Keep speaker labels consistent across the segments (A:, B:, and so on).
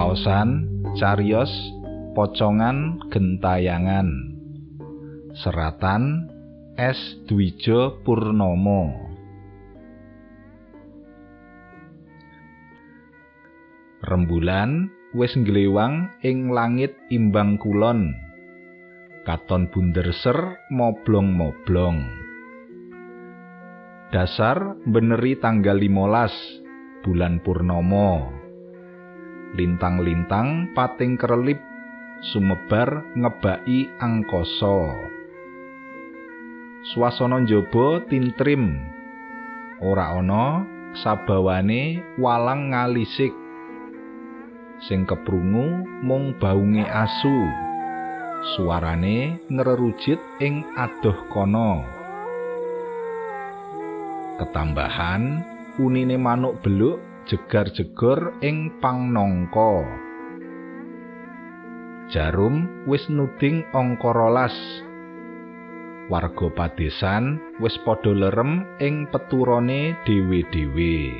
A: Waosan cariyos pocongan gentayangan. Seratan S. Dwijo Purnomo. Rembulan wis nglewang ing langit imbang kulon. Katon bunder ser moblong-moblong. Dasar beneri tanggal 15 bulan purnomo. Lintang-lintang pating krelip sumebar ngebaki angkasa. Swasana njaba tintrim, ora ana sabawane walang ngalisik. Sing keprungu mung baunge asu, suarane ngrerujit ing adoh kono. Ketambahan unine manuk beluk jegar-jegor ing pangnangka. Jarum wis nuding angka 12. Warga padesan wis padha lerem ing peturane dhewe-dhewe.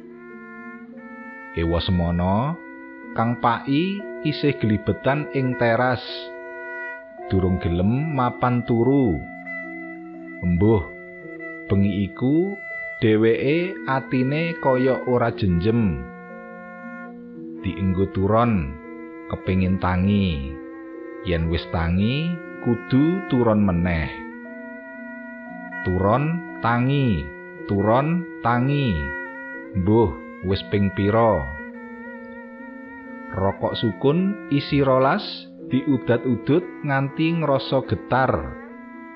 A: Ewa semana Kang Pai isih glibetan ing teras. Durung gelem mapan turu. Embuh, bengi iku dheweke atine kaya ora jenjem. Dienggo turon, kepengin tangi. Yen wis tangi, kudu turon meneh. Turon tangi, turon tangi. Mbuh, wis ping pira? Rokok sukun isi 12 diudat-udut nganti ngrasa getar.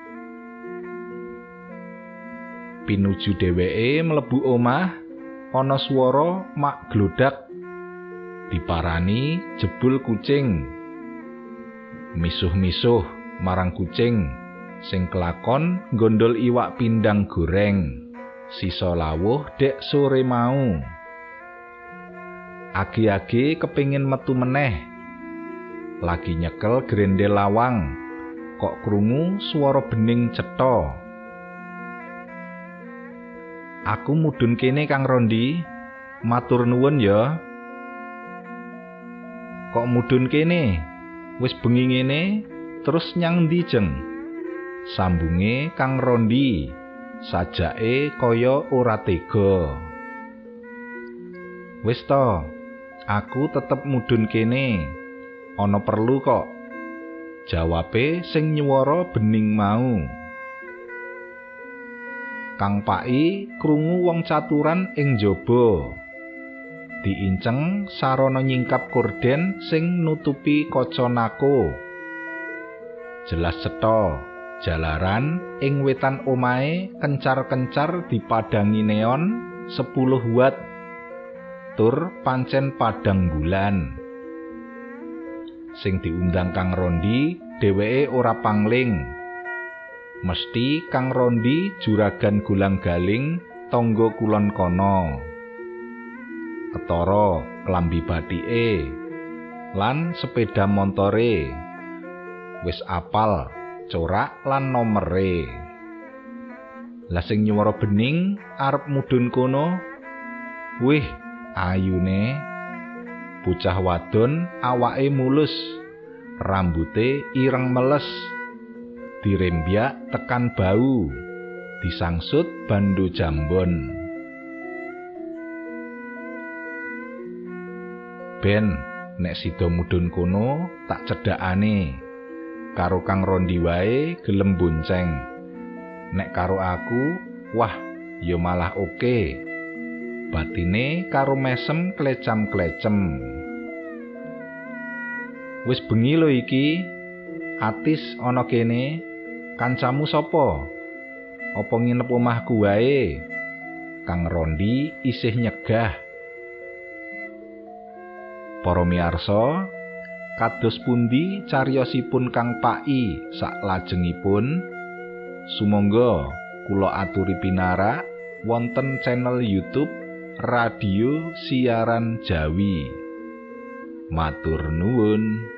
A: Pinuju dheweke mlebu omah, ana swara mak glodak. Diparani jebul kucing. Misuh-misuh marang kucing sing kelakon gondol iwak pindang goreng. Sisa lawuh dek sore mau. Agi-agi kepingin metu meneh. Lagi nyekel grendel lawang, kok krungu swara bening cetha. Aku mudhun kene Kang Rondi, matur nuwun ya. Kok mudhun kene? Wis bengi ngene, terus nyang ndi jeng? Sambunge Kang Rondi, sajake kaya ora tega. Wis to, aku tetep mudhun kene. Ana perlu kok. Jawabe sing nyuwara bening mau. Kang Pai krungu wong caturan ing njaba. Diinceng sarana nyingkap korden sing nutupi kaca nako. Jelas cetha, jalaran ing wetan omahe kencar-kencar dipadangi neon 10 watt. Tur pancen padang bulan. Sing diundang Kang Rondi dheweke ora pangling. Mesti Kang Rondi juragan gulang-galing tangga kulon kono. Ketara klambi batike lan sepeda montore. Wis apal corak lan nomere. Lah sing nyuwara bening arep mudhun kono. Wih, ayune bocah wadon awake mulus, rambute ireng meles. Dirembyak tekan bau, disangsut bando jambon. Ben, nek sida mudhun kono tak cedhakane. Karo Kang Rondi wae gelem bonceng. Nek karo aku, wah, ya malah oke. Batine karo mesem klecam-klecem. Wis bengi lho iki. Atis ana kene. Kancamu sapa? Apa nginep omahku wae? Kang Rondi isih nyegah. Para miyarsa, kados pundi cariyosipun Kang Pai saklajengipun? Sumangga kula aturi pinarak wonten channel YouTube Radio Siaran Jawi. Matur nuwun.